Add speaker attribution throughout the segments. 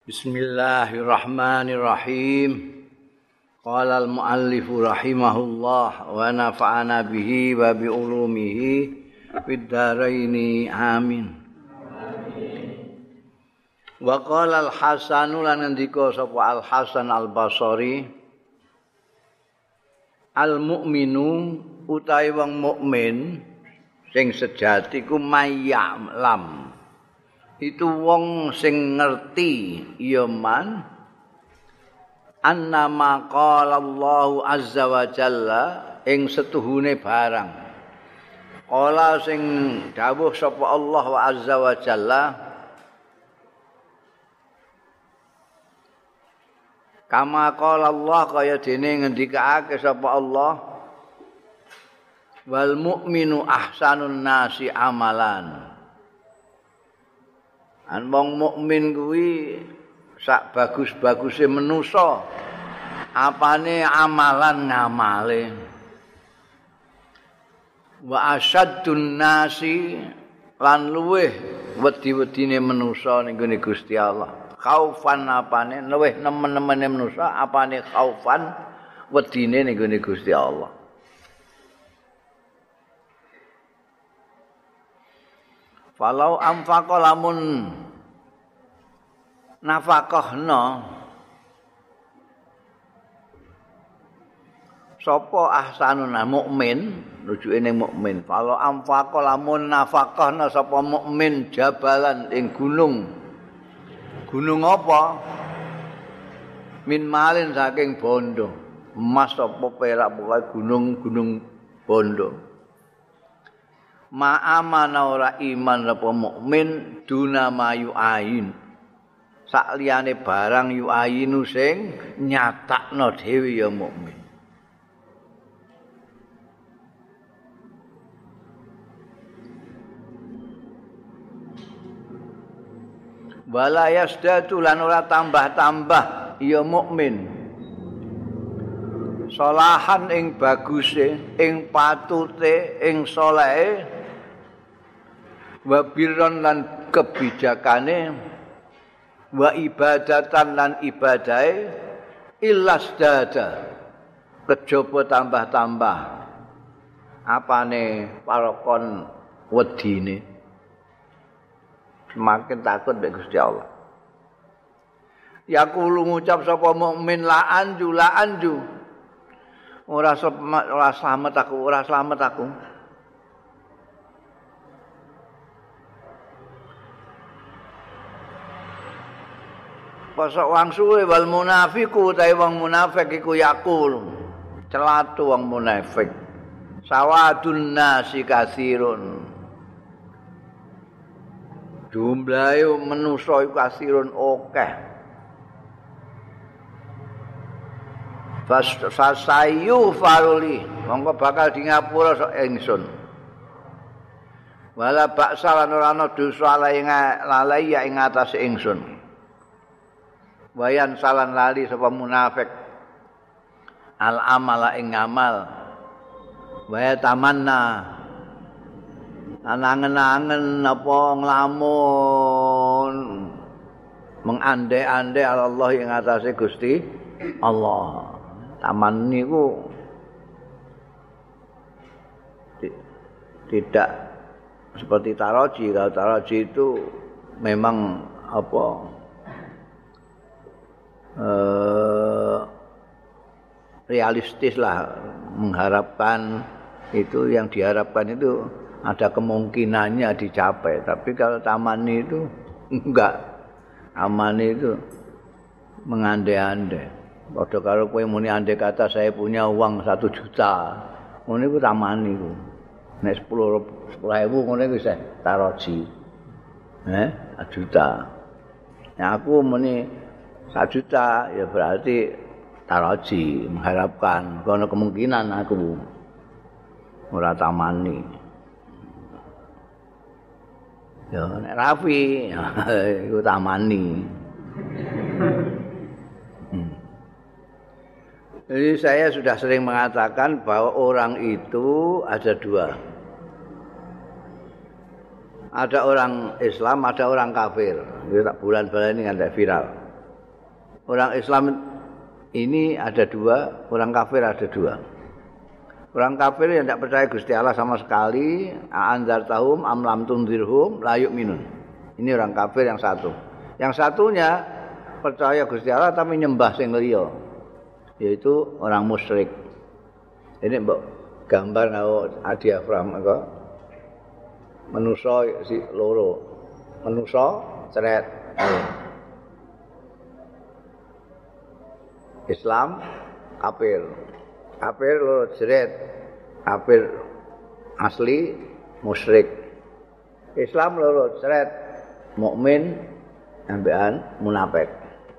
Speaker 1: Bismillahirrahmanirrahim. Qala al-muallifu rahimahullah wa nafa'ana bihi wa bi ulumihi fid dharaini amin. Wa qala al-Hasan lan ngendika sapa Al-Hasan Al-Basri, al-mu'minu utawi wong mukmin sing sejati ku mayya'lam. Itu wong sing ngerti ya man annama qala Allahu azza wa jalla ing setuhune barang qala sing dawuh sapa Allah wa azza wa jalla kama qala Allah kaya dene ngendikake sapa Allah wal mu'minu ahsanun nasi amalan. Wong mukmin kuwi sak bagus-baguse manusa apane amalan ngamale. Wa asyaddun nasi lan luweh wedi-wedine manusa ning gone Gusti Allah. Khaufan apane luweh nemen-nemene manusa apane khaufan wedine ning gone Gusti Allah. Falau anfaqa lamun nafaqahna sapa ahsanun mukmin rujuke ning mukmin. Falau anfaqa lamun nafaqahna sapa mukmin jabalan ing gunung. Gunung apa? Min malin saking bondo. Emas apa perak pokoke gunung-gunung bondo. Ma'amana ora iman apa mukmin duna mayu ain sak liyane barang yu ainu sing nyatakno dhewe ya mukmin. Wala yasdatu lan ora tambah-tambah ya mukmin salahan ing baguse ing patute ing salehe wa birron lan kebijakane wa ibadatan lan ibadahe illasdada kejaba tambah-tambah apane parakon wedine semakin takut mek Gusti Allah. Yaqulu ngucap sapa mukmin la anju ora slamet aku Pasok wong suwe wal munafiku utawi wong munafik iku yaqul celatu wong munafik sawadun nasi kasirun jumlahe manusa iku kasirun akeh fasayu faruli mongko bakal di ngapura sok ingsun wala baksa lan ora ana dosa lalai ing atase ingsun. Wayan salan lali sapa munafik al amala ing amal waya tamanna angen-angen apa nglamun mengandai-andai Allah ing atase Gusti Allah. Taman niku tidak seperti taroji. Kalau taroji itu memang realistis lah, mengharapkan itu yang diharapkan itu ada kemungkinannya dicapai. Tapi kalau tamani itu enggak, amani itu mengandai-andai. Padha karo kowe muni andai kata saya punya uang 1 juta, ngono iku tamani iku. Nek 10.000 ngono iku wis taroji. 1 juta. Nah aku muni 1 juta ya berarti taroji, mengharapkan kono kemungkinan aku ora tamani. Ya nek Rafi iku tamani. Jadi saya sudah sering mengatakan bahwa orang itu ada dua. Ada orang Islam, ada orang kafir. Itu tak bulan-bulan ini ada viral. Orang Islam ini ada dua, orang kafir ada dua. Orang kafir yang tidak percaya Gusti Allah sama sekali, anzartahum am lam tunzirhum la yu'minun. Ini orang kafir yang satu. Yang satunya percaya Gusti Allah tapi nyembah sing liya, yaitu orang musyrik. Ini mbok gambar karo diafram kok. Manusa si loro. Manusa ceret. Islam kafir. Kafir loro ceret. Kafir asli musyrik. Islam loro ceret. Mukmin ambekan munafik.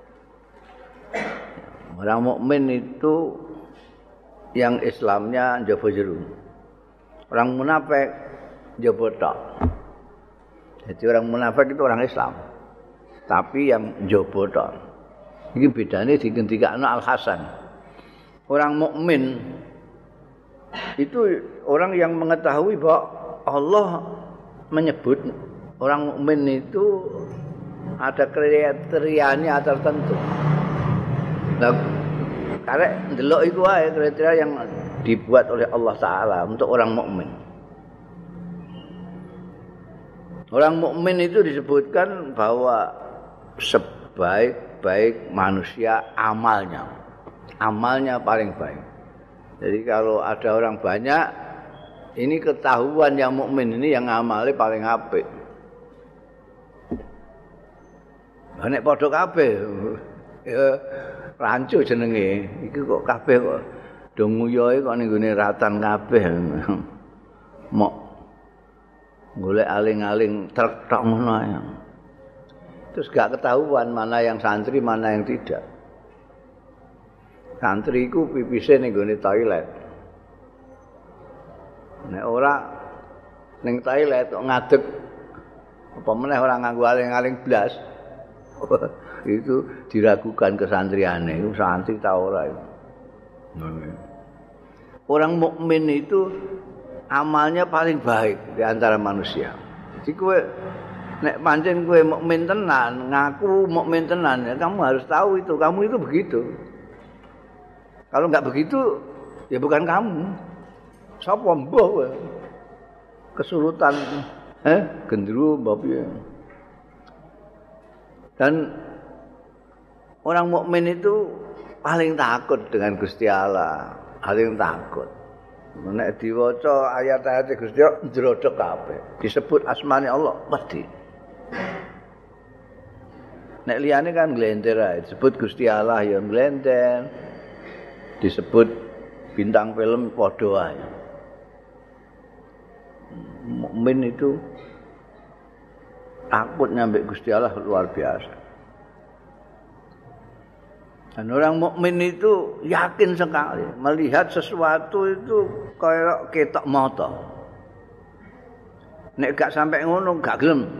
Speaker 1: Orang mukmin itu yang Islamnya njaba jero. Orang munafik njaba tok. Jadi orang munafik itu orang Islam. Tapi yang njaba tok. Iki bedane digendikakno Al Hasan. Orang mukmin itu orang yang mengetahui bahwa Allah menyebut orang mukmin itu ada kriterianya tertentu. Nah, karena ndelok iku wae kriteria yang dibuat oleh Allah Taala untuk orang mukmin. Orang mukmin itu disebutkan bahwa sebaik-baik manusia amalnya paling baik. Jadi kalau ada orang banyak, ini ketahuan yang mukmin ini yang amalnya paling apik. Nek padha kabeh ya rancu jenenge. Iki kok kabeh kok do nguyohe kok ning gone ratan kabeh. Mok golek aling-aling trek tok ngono ae. Terus gak ketahuan mana yang santri, mana yang tidak. Santri iku pipise ning gone toilet. Nek ora ning toilet kok ngadeg apa meneh ora nganggo aling-aling blas. Itu diragukan kesantriane, itu santri ta ora itu. Orang mukmin itu amalnya paling baik di antara manusia. Jadi kowe nek pancen kowe mukmin tenan, ngaku mukmin tenan, ya kamu harus tahu itu, kamu itu begitu. Kalau enggak begitu, ya bukan kamu. Sapa mbah kowe? Kesurutan, gendruwo mbah piye? Dan orang mukmin itu paling takut dengan Gusti Allah, paling takut. Nek diwaca ayat-ayat Gusti Allah njrodhok kabeh. Disebut asmane Allah wedi. Nek liyane kan glenter ae, disebut Gusti Allah ya glenter. Disebut bintang film padha ae. Mukmin itu takut nyampe Gusti Allah luar biasa. Dan orang mukmin itu yakin sekali melihat sesuatu itu kayak ketok mata. Nek gak sampai ngono gak gelem.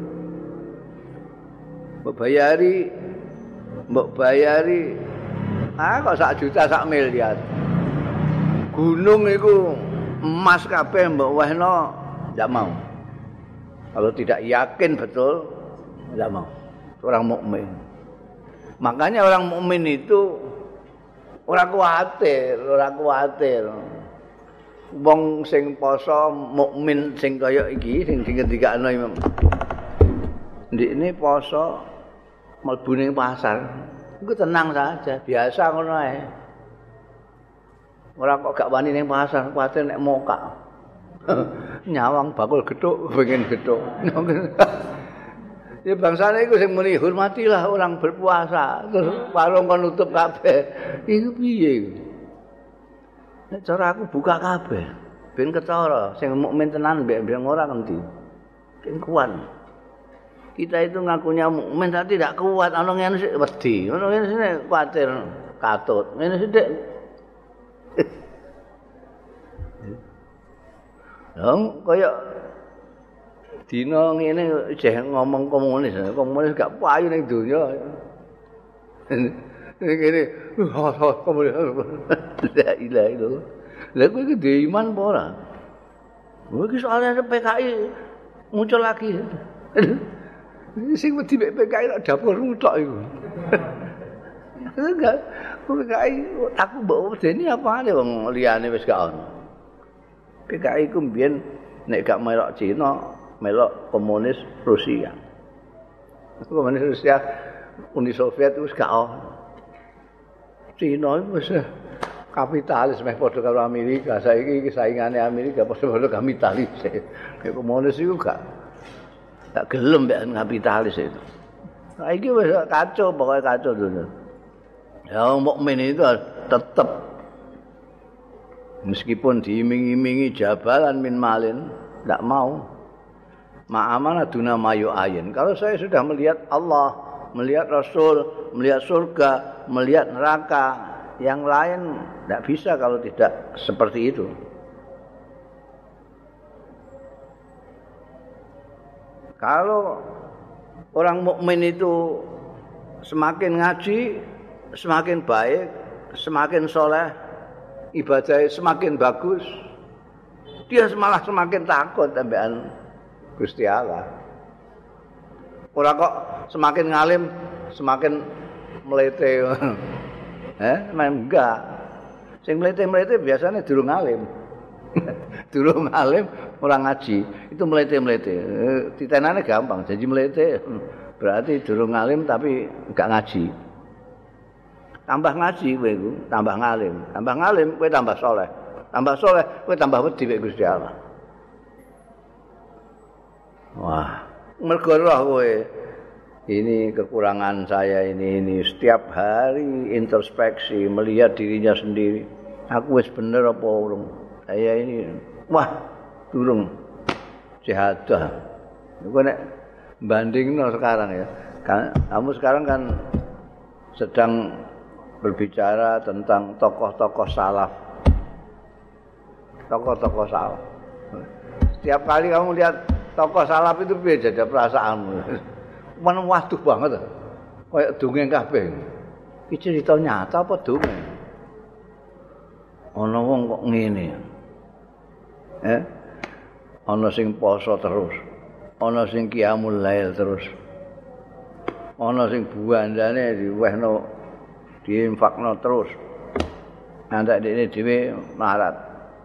Speaker 1: Mbok bayari kok 1 juta 1 miliar. Gunung iku emas kabeh mbok wehno ndak mau. Kalau tidak yakin betul, tidak mau. Orang mukmin. Makanya orang mukmin itu ora kuwatir. Wong sing poso mukmin sing kaya iki sing ngendikakno Imam. Ndikne poso mlebu ning pasar. Iku tenang saja, biasa ngono ae. Ora kok gak wani ning pasar, kuwatir nek mokak. Nyawang bakul gethuk pengen gethuk. Ya bangsane iku sing muni hormatilah orang berpuasa. Terus warung kon nutup kabeh. Iku piye iku? Nek cara aku buka kabeh ben ketara sing mukmin tenan mbek ora ngendi. Ben kuat. Kita itu ngakunya mukmin tapi tidak kuat, ana ngene sik wedi. Ana ngene sik kuwatir katut. Ngene sithik kaya dina ngene jeh ngomong komunis gak payu ning donya. Ngene, komunis. La ilaha illallah. Lah kowe iki ndek iman apa ora? Kowe iki soalnya PKI muncul lagi. Sing wedi PKI nek dapurmu tok iku. Enggak. Aku mbok wedeni apane wong liyane wis gak ono. PKI ku mbiyen nek gak melok Cina, melok komunis Rusia. Komunis Rusia Uni Soviet wis gak ono. Cina wis kapitalis meh padha karo Amerika. Saiki saingane Amerika padha kapitalis. Nek komunis iku gak gelem mek kapitalis itu. Saiki wis kacau, pokoke kacau dunia. Ya mukmin itu tetap meskipun diiming-imingi jabalan min malin, tidak mau. Ma'amana duna mayu ayin. Kalau saya sudah melihat Allah, melihat Rasul, melihat surga, melihat neraka, yang lain tidak bisa kalau tidak seperti itu. Kalau orang mukmin itu semakin ngaji, semakin baik, semakin soleh, ibadahnya semakin bagus, dia malah semakin takut ambekan Gusti Allah. Ora kok semakin ngalim semakin melete. Enggak. Sing melete-melete biasanya durung ngalim. Durung ngalim ora ngaji, itu melete-melete. Titenane gampang, jadi melete berarti durung ngalim tapi enggak ngaji. Tambah ngaji kowe iku, tambah ngalim kowe tambah soleh. Tambah soleh kowe tambah wedi mek Gusti Allah. Wah, mergo roh kowe. Ini kekurangan saya ini setiap hari introspeksi, melihat dirinya sendiri. Aku wis bener apa urung? Saya ini wah, durung syahadah. Iku nek bandingno sekarang ya. Kamu sekarang kan sedang berbicara tentang tokoh-tokoh salaf. Tokoh-tokoh salaf. Setiap kali kamu lihat tokoh salaf itu beda ada perasaanmu. Mana waduh banget. Kayak dongeng kabeh. Iki cerita nyata apa dongeng? Ana wong kok ngene. Ana sing poso terus. Ana sing qiyamul lail terus. Ana sing buandane diwehno diinfakno terus. Antek dekne dhewe melarat.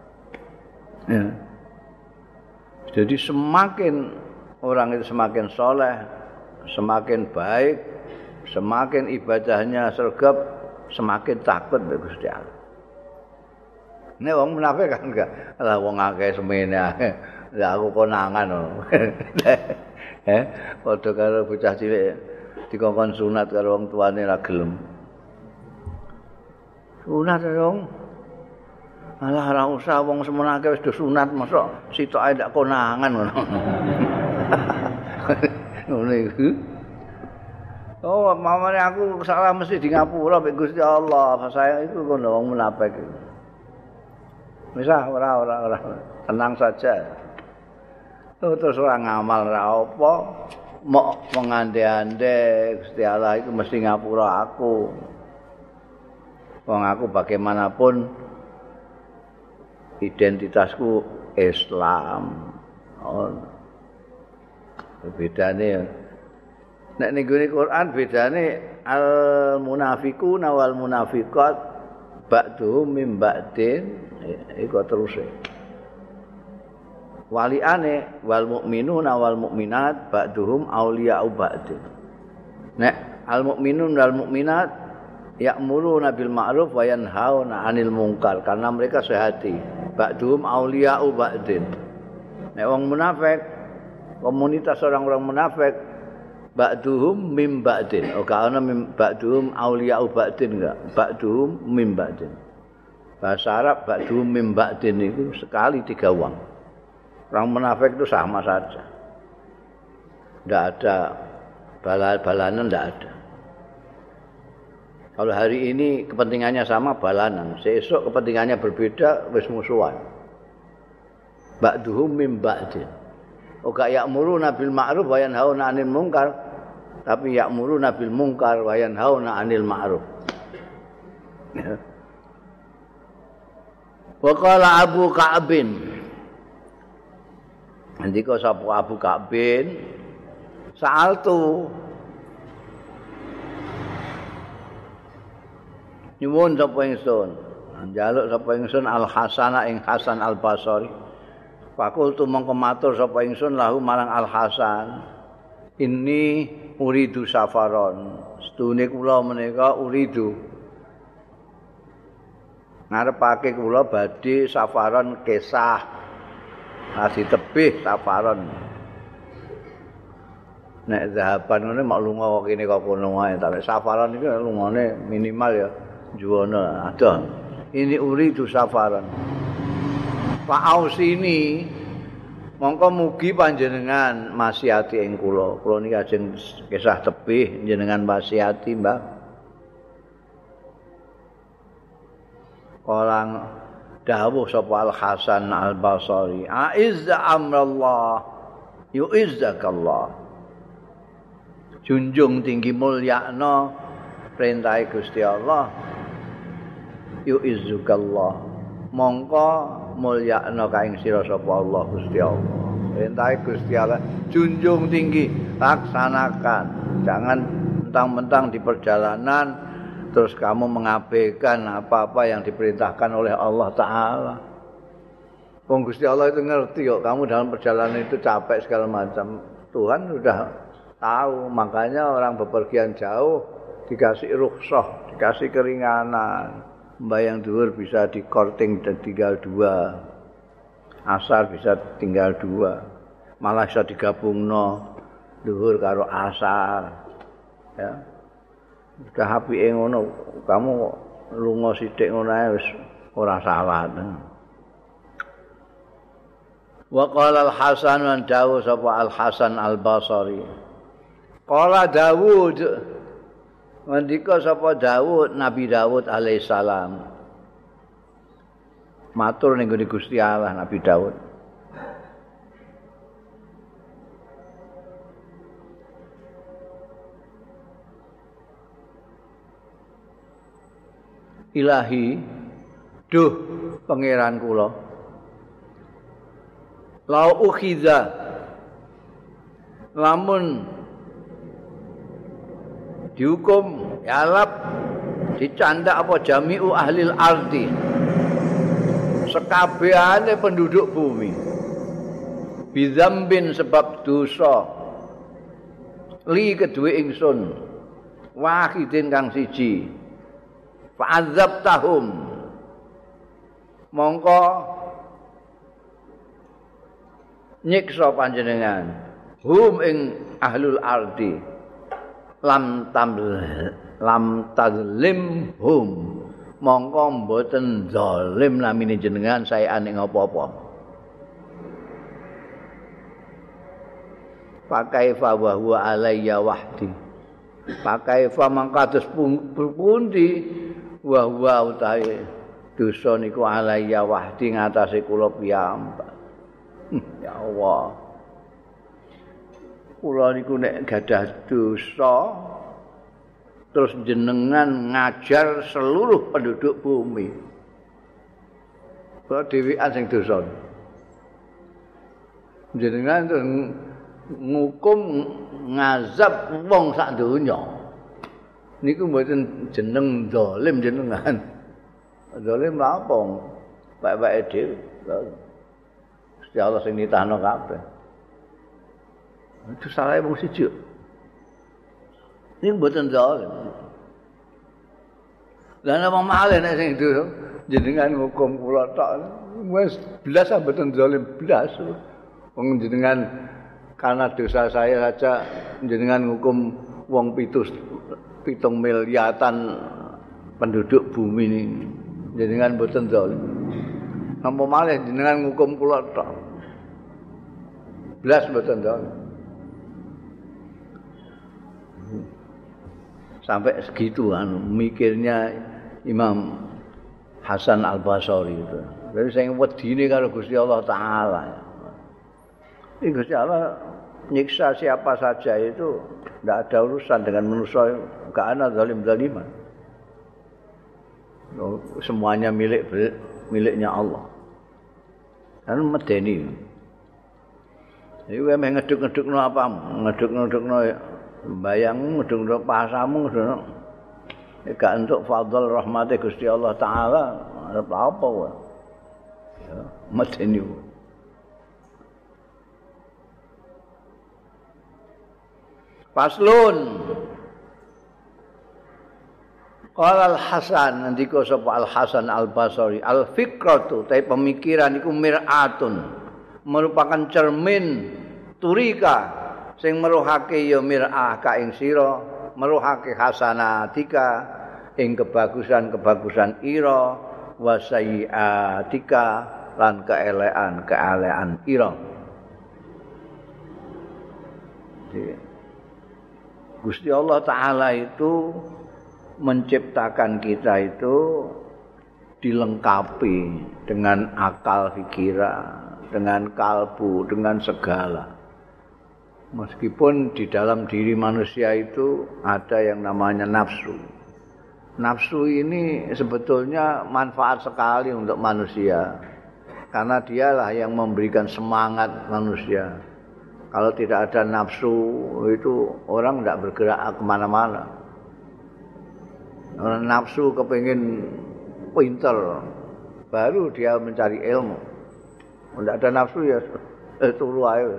Speaker 1: Jadi semakin orang itu semakin soleh, semakin baik, semakin ibadahnya sergap, semakin takut mek Gusti Allah. Nek wong munafik kan enggak. Lah wong akeh semene akeh. Lah aku konangan lho. Padha karo bocah cilik dikongkon sunat karo wong tuane ra gelem. Sunat dong. Alah ora usah wong semono akeh wis do sunat mosok sitoke ndak konangan ngono. Ngono iku. Oh, mamane aku salah mesti di ngapura mek Gusti Allah. Saya itu kono wong munafik. Wis ora tenang saja. Terus ora ngamal ora apa, mok mengande-ande Gusti Allah itu mesti ngapura aku. Wong aku bagaimanapun identitasku Islam. Oh. Bedane nek ning Quran bedane al munafiquna wal munafiqat ba'duhum mim ba'din iku terus. Waliane wal mukminuna wal mukminat ba'duhum auliya'u ba'din. Nek al mukminun wal mukminat ya'muruna bil ma'ruf wa yanhauna 'anil munkar karena mereka sehati. Ba'duhum auliya'u ba'din. Nek wong munafik, komunitas orang-orang munafik ba'duhum mim ba'din. Oh kana mim ba'duhum auliya'u ba'din enggak? Ba'duhum mim ba'din. Bahasa Arab ba'duhum mim ba'din itu sekali 3 uang. Orang munafik itu sama saja. Enggak ada balanan enggak ada. Kalau hari ini kepentingannya sama balanan, besok kepentingannya berbeda wis musuhan. Ba'duhum mim ba'din. Oga ya'muruna bil ma'ruf wa yanhauna 'anil munkar, tapi ya'muruna bil munkar wa yanhauna 'anil ma'ruf. Wa qala Abu Ka'bin. Ndika sapa Abu Ka'bin? Sa'altu Nyuwun sapa ingsun. Njaluk sapa ingsun Al Hasana ing Hasan Al Basri. Fakultu mongko matur sapa ingsun lahu marang Al Hasan. Ini uridu safaron. Sedune kula menika uridu. Ngarepake kula badhe safaron kesah. Kasih tebih safaron. Nek zahaban ngene mak lunga kok kene kok kono wae, tapi safaran iki lungane minimal ya juwana ada. Ini uridu safaran. Fa'ausini mongko mugi panjenengan masihati ing kula. Kula niki ajeng kisah tebih jenengan masihati, Mbah. Orang dawuh sapa Al Hasan Al Basri, "A'izza amrallah, yu'izzakallah." Junjung tinggi mulyakno perintah Gusti Allah, yu'izzukallah, mongko mulyakno kaing sira sapa Allah Gusti Allah. Perintah Gusti Allah junjung tinggi, laksanakan. Jangan mentang-mentang di perjalanan terus kamu mengabaikan apa-apa yang diperintahkan oleh Allah Ta'ala. Wong Gusti Allah itu ngerti kok kamu dalam perjalanan itu capek segala macam. Tuhan sudah tahu, makanya orang bepergian jauh dikasih rukhsah, dikasih keringanan. Mbayang dhuwur bisa dikorting dan tinggal 2. Asar bisa tinggal 2. Malah bisa digabungno dhuwur karo asar. Ya. Sudah apike ngono, kamu lunga sithik ngono ae wis ora salah. Wa qala Al Hasan wa dawu sapa Al Hasan Al Basri. Qala Dawud, ngendika sapa Dawud, Nabi Dawud alaihissalam. Matur ning gone Gusti Allah Nabi Dawud. Ilahi, duh pangeran kula. Lau ukhiza, lamun dihukum yalap dicandak apa jami'u ahlil ardi, sekabehane penduduk bumi, bizambin sebab dosa, li kedue ingsun, wahidin kang siji, fa'adzabtahum, mongko nyiksa panjenengan hum ing ahlul ardi lam tazlim hum, mongko mboten zalim namine jenengan saean ing apa-apa. Pakaifa wa huwa alayya wahdi, pakaifa mangkados pundi wa huwa utahe dosa niku alayya wahdi ngatasé kula piyambak. Ya Allah, kula niku nek gadah dosa terus jenengan ngajar seluruh penduduk bumi. Kula dhewean sing dosa. Jenengan terus ngukum ngazab wong sak donya. Niku mboten jeneng zalim jenengan. Zalim lha apa? Bae-bae dhewe. Gusti Allah sing nitahno kabeh. Itu salah wong siji. Ini mboten zalim. Lah napa malih nek sing itu jenengan ngukum kula tok wis blas mboten zalim blas. Wong jenengan karena dosa saya saja jenengan ngukum wong 7 miliatan penduduk bumi ini. Jenengan mboten zalim. Napa malih jenengan ngukum kula tok. Blas mboten zalim. Sampai segitu mikirnya Imam Hasan Al Basri itu. Jadi saya wedine karo Gusti Allah Taala. Ini Gusti Allah nyiksa siapa saja itu tidak ada urusan dengan manusia, enggak ada zalim-zaliman. Semuanya miliknya Allah. Kan medeni. Jadi kowe ngeduk-ngedukno apa? Ngeduk-ngedukno bayangmu, ngeduk-ngeduk pasamu, Gak entuk fadl rahmate Gusti Allah taala arep apa wae. Ya, medeni. Faslun. Qala Al-Hasan ngendika sapa Al-Hasan Al-Basri, al-fikratu ta pemikiran iku mir'atun, merupakan cermin turika sing meruhake ya mir'ah ka ing sira, meruhake hasanatika ing kebagusan-kebagusan ira, wa sayyiatika lan keelekan ira. Gusti Allah taala itu menciptakan kita itu dilengkapi dengan akal pikiran, dengan kalbu, dengan segala. Meskipun di dalam diri manusia itu ada yang namanya nafsu. Nafsu ini sebetulnya manfaat sekali untuk manusia. Karena dialah yang memberikan semangat manusia. Kalau tidak ada nafsu itu orang tidak bergerak kemana-mana. Orang nafsu kepingin pinter, baru dia mencari ilmu. Tidak ada nafsu ya turu aja.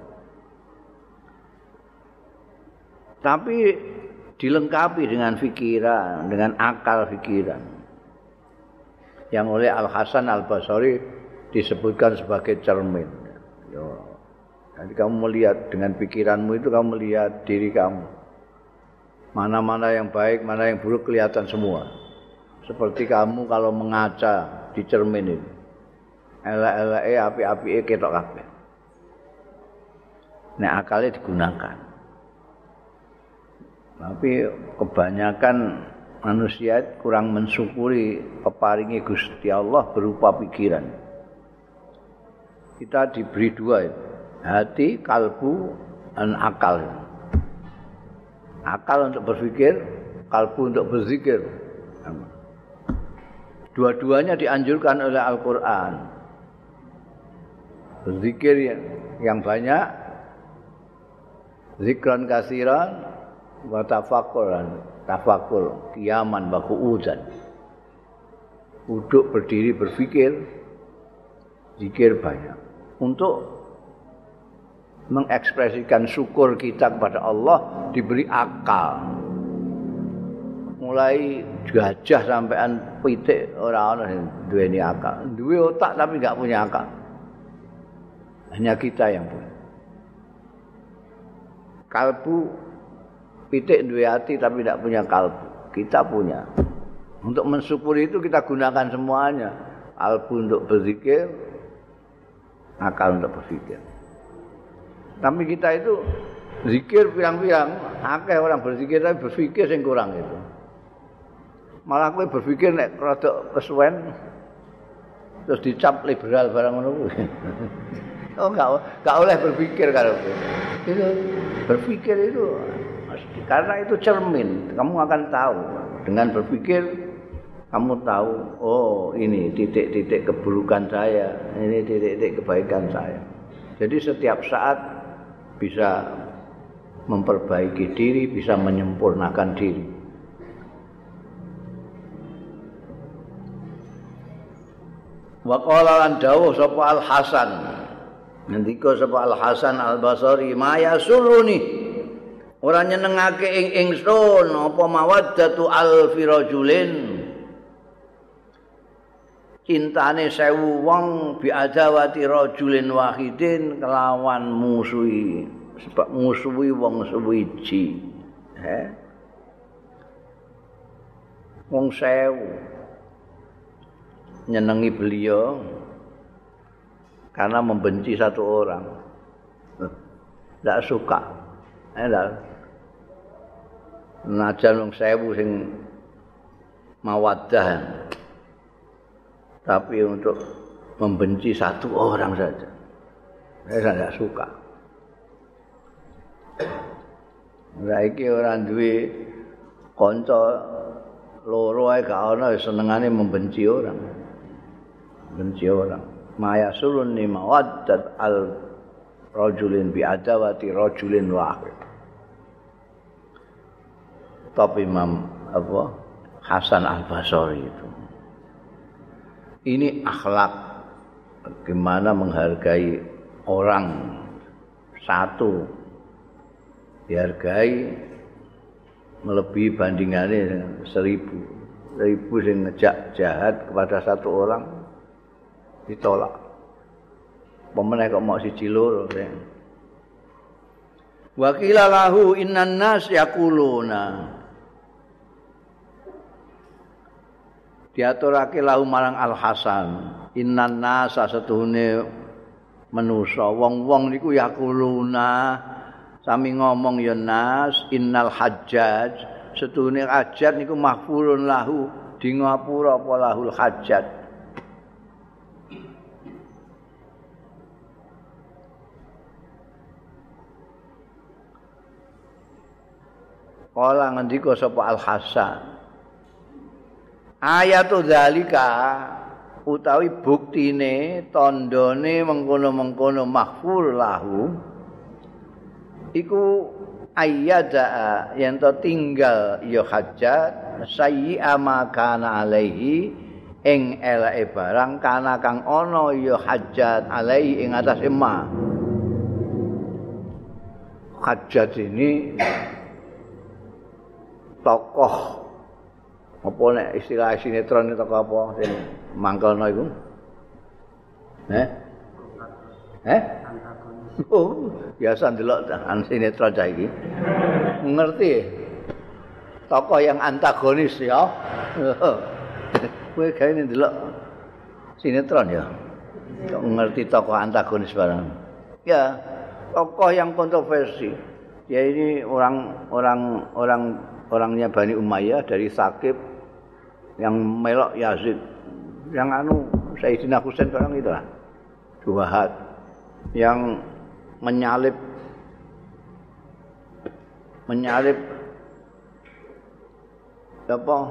Speaker 1: Tapi dilengkapi dengan pikiran, dengan akal pikiran. Yang oleh Al-Hasan Al-Basri disebutkan sebagai cermin. Jadi kamu melihat dengan pikiranmu itu kamu melihat diri kamu. Mana-mana yang baik, mana yang buruk kelihatan semua. Seperti kamu kalau mengaca di cermin itu. Elek-eleke, api-apike ketok kabeh. Nek akalnya digunakan. Tapi kebanyakan manusia kurang mensyukuri peparingi Gusti Allah berupa pikiran. Kita diberi dua itu. Hati, kalbu, dan akal. Akal untuk berpikir, kalbu untuk berzikir. Dua-duanya dianjurkan oleh Al-Quran. Berzikir yang banyak, zikran kasiran, wa tafakkur, qiyaman wa qu'udan. Duduk berdiri berpikir, zikir banyak. Untuk mengekspresikan syukur kita kepada Allah diberi akal. Mulai gajah sampean pitik ora ana sing duweni akal. Duwe otak tapi enggak punya akal. Hanya kita yang punya. Kalbu pitik duwe hati tapi enggak punya kalbu. Kita punya. Untuk mensyukuri itu kita gunakan semuanya. Kalbu untuk berzikir, akal untuk berpikir. Tapi kita itu zikir pirang-pirang, akeh orang berzikir tapi berpikir sing kurang itu. Malah kowe berpikir nek rada kesuwen terus dicap liberal barang ngono kuwi. Oh enggak oleh berpikir karo kowe. Itu berpikir itu karena itu cermin, kamu akan tahu. Dengan berpikir kamu tahu, oh ini titik-titik keburukan saya, ini titik-titik kebaikan saya. Jadi setiap saat bisa memperbaiki diri, bisa menyempurnakan diri. Wa qala lan dawuh sapa Al-Hasan. Ngendika sapa Al-Hasan Al-Basri, "Maya suluni." Ora nyenengake ing ingsun apa mawaddatu alfi rajulin. Cintane 1000 wong biadawati rajulin wahidin kelawan musuhi, sebab musuhi wong suwiji. Wong 1000 nyenengi beliau karena membenci satu orang. Tidak suka. Najan wong 1000 sing mawaddah. Tapi untuk membenci satu orang saja, saya tidak suka. Saiki ora duwe kanca loro ae gak ana senengane membenci orang. Benci orang. Maya sulun ni mawaddat al rajulin bi adawati rajulin wahid. Tapi Imam Hasan Al-Basri itu. Ini akhlak bagaimana menghargai orang satu, dihargai melebihi bandingannya 1000 yang ngejak jahat kepada satu orang ditolak. Pemenang kok mau siji loro. Wa qila lahu innan nas yaquluna. Diaturake lahu marang Al Hasan, innan nas setuhune manusa wong-wong niku yaquluna sami ngomong ya nas innal hajjaj setuhune hajat niku mahfurun lahu di ngapura apa lahul hajat. Kala ngendika sapa Al Hasan ayatu zalika utawi buktine tandane mengkono-mengkono mahfur lahu iku ayyada yen to tinggal ya hajat sayyi ama kana alaihi ing eleke barang kana kang ana ya hajat alaihi ing atase ma. Hajat ini tokoh apa nek istilah sinetron itu tokoh apa sing mangkelno iku? Oh, biasa ndelok sinetron cah iki. Ngerti? Tokoh yang antagonis ya. Kowe gawe ndelok sinetron ya. Kok ngerti tokoh antagonis barang. Ya, tokoh yang kontroversi. Ya ini orangnya Bani Umayyah dari Saqif yang melok Yazid, yang Sayyidina Husain orang itu lah. Duhaat yang menyalib apa?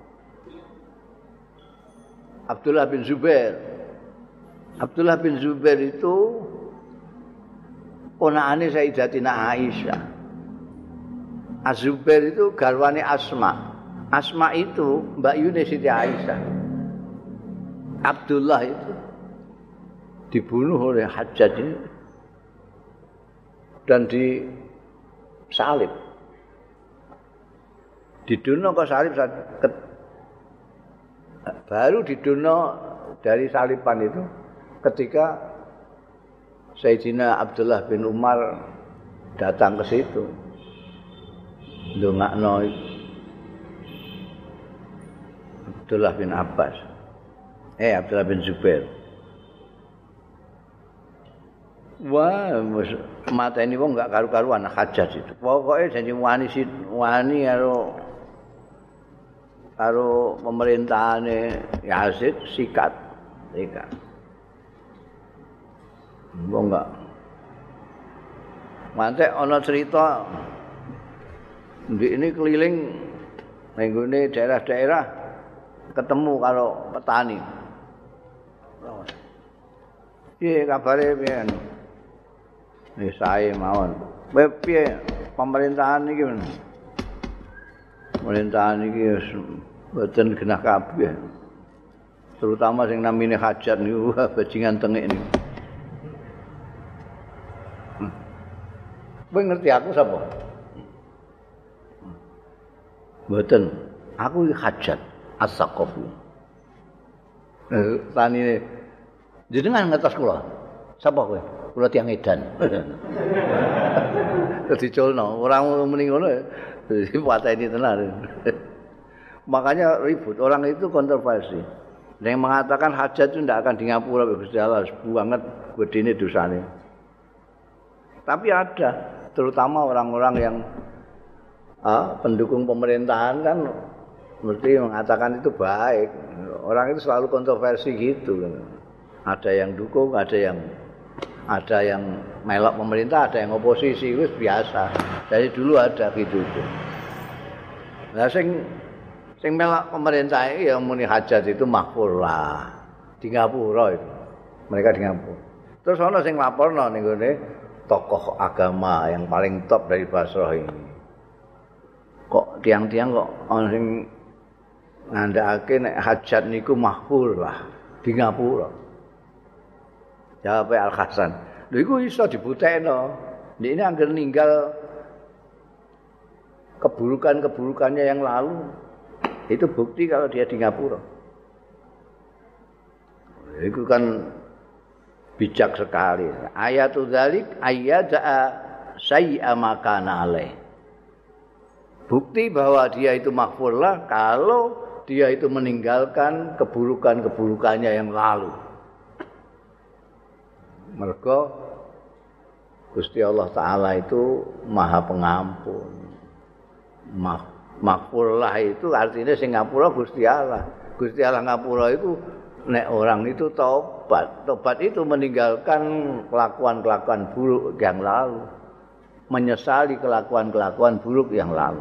Speaker 1: Abdullah bin Zubair. Abdullah bin Zubair itu ponakane Sayyidatina Aisyah. Az-Zubair itu garwane Asma. Asma itu Mbak Yune Siti Aisyah. Abdullah itu dibunuh oleh Hajjaj ini dan disalib. Didono kok salib baru didono dari saliban itu ketika Sayyidina Abdullah bin Umar datang ke situ. Ndongakno Abdullah bin Abbas. Abdullah bin Zubair. Wah, mata ini wong enggak karu-karuan Hajjaj itu. Pokoknya janji wani karo pemerintahane Yazid sikat. Wong enggak. Mantek ana cerita ini keliling nenggone daerah-daerah ketemu karo petani. Piye kabare piye? Wis sae mawon. Piye pemerintahan iki? Pemerintahan iki wis mboten genah kabeh. Terutama sing namine hajat niku bajingan tengik niku. Kowe ngerti aku sapa? Mboten. Aku iki hajat As-Saqafi. Tanine jenengan ngetos kula. Sapa kowe? Kula tiyang edan. Dadi colno, ora muni ngono. Dipateni tenan. Makanya ribut, orang itu kontroversi. Yang mengatakan hajat itu tidak akan di ngapura Gusti Allah, banget gedene dosane. Tapi ada, terutama orang-orang yang pendukung pemerintahan kan mesti mengatakan itu baik. Orang itu selalu kontroversi gitu. Ada yang dukung, ada yang melok pemerintah, ada yang oposisi, itu biasa. Dari dulu ada gitu. Nah, sing melok pemerintah itu yang muni hajat itu makfur lah. Di ngapura itu. Mereka di ngapura. Terus ana sing laporno ning gone tokoh agama yang paling top dari Basrah ini. Kok tiang-tiang kok ana sing ngandhakake nek hajat niku mahfur lah di ngapura. Jawab Al Hasan. Lho iku iso dibutekno. Nek ini angger ninggal keburukan-keburukannya yang lalu. Itu bukti kalau dia di ngapura. Itu kan bijak sekali. Ayatul dzalik ayyada sayyi'a makana alaih. Bukti bahwa dia itu maghfurlah kalau dia itu meninggalkan keburukan-keburukannya yang lalu. Mergo Gusti Allah Ta'ala itu Maha Pengampun. Maghfurlah itu artinya sing ngapura Gusti Allah. Gusti Allah ngapura itu nek orang itu tobat. Tobat itu meninggalkan kelakuan-kelakuan buruk yang lalu. Menyesali kelakuan-kelakuan buruk yang lalu.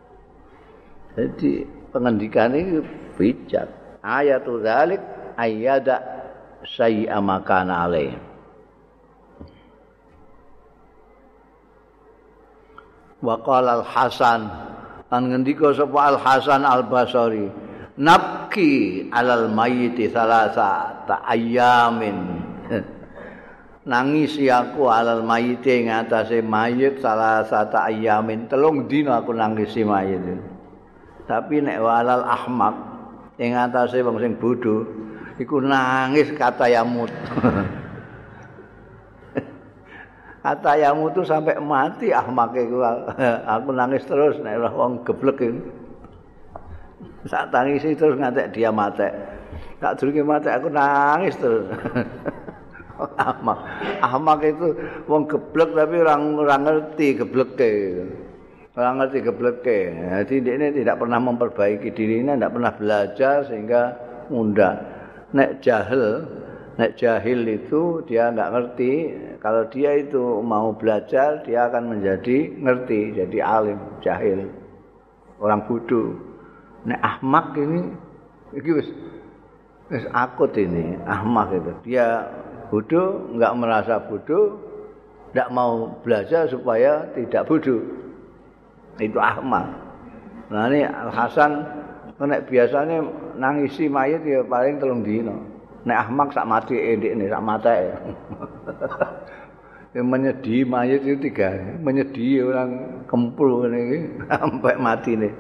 Speaker 1: Jadi pengendikan ini bijak. Ayatul dzalik ayyada sayyi'a makana alaih. Wa qala Al-Hasan lan ngendika sapa Al-Hasan Al-Basri, nabki alal mayyiti salasa ayamin. Nangisi aku alal mayyiti ing atase mayit salasa ayamin. 3 dina aku nangisi mayit. Tapi nek walal ahmak ing atase wong sing bodho iku nangis kata yamut. Kata yamut itu sampai mati ahmak iku aku nangis terus nek wong geblek iku. Sak tangisi terus ngantek dia matek. Tak durunge matek aku nangis terus. Ahmak itu wong geblek tapi orang ngerti gebleke. Orang ngerti gebleke. Jadi dia tidak pernah memperbaiki dirinya, tidak pernah belajar sehingga mudah. Nek jahil itu dia enggak ngerti. Kalau dia itu mau belajar, dia akan menjadi ngerti, jadi alim, jahil. Orang bodoh. Nek ahmak ini wis akut ini, ahmak itu. Dia bodoh, enggak merasa bodoh, enggak mau belajar supaya tidak bodoh. Itu ahmak. Nah ini Al-Hasan nek biasanya nangisi mayit ya paling 3 dina. Nek ahmak sak mati ndekne sak mateke. Yang menyedih mayit itu 3, menyedih orang kempul ngene iki sampai matine.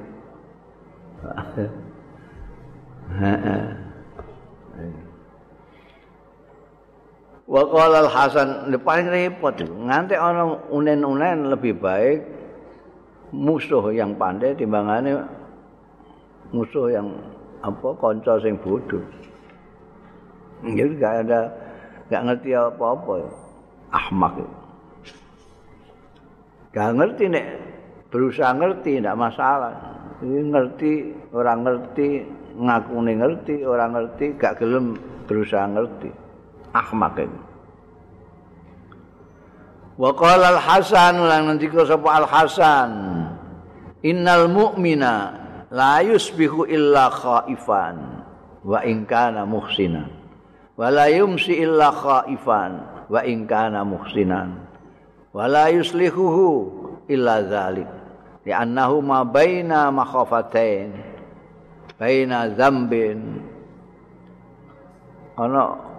Speaker 1: Wa qala Al-Hasan, paling repot nganti ana unen-unen lebih baik musuh yang pandai timbangane musuh yang kanca sing bodoh. Jadi enggak ngerti apa-apa. Ahmak. Enggak ngerti nek berusaha ngerti enggak masalah. Ini ngerti, orang ngerti, ngakune ngerti, orang ngerti, gak gelem berusaha ngerti. Ahmak itu. Wa qala Al-Hasan lan ngendika sapa Al-Hasan, innal mu'mina la yusbihu illa khaifan wa in kana muhsinan wa la yumsi illa khaifan wa in kana muhsinan wa la yuslihuhu illa dzalik li'annahu ma baina makhafatain baina dzambin ana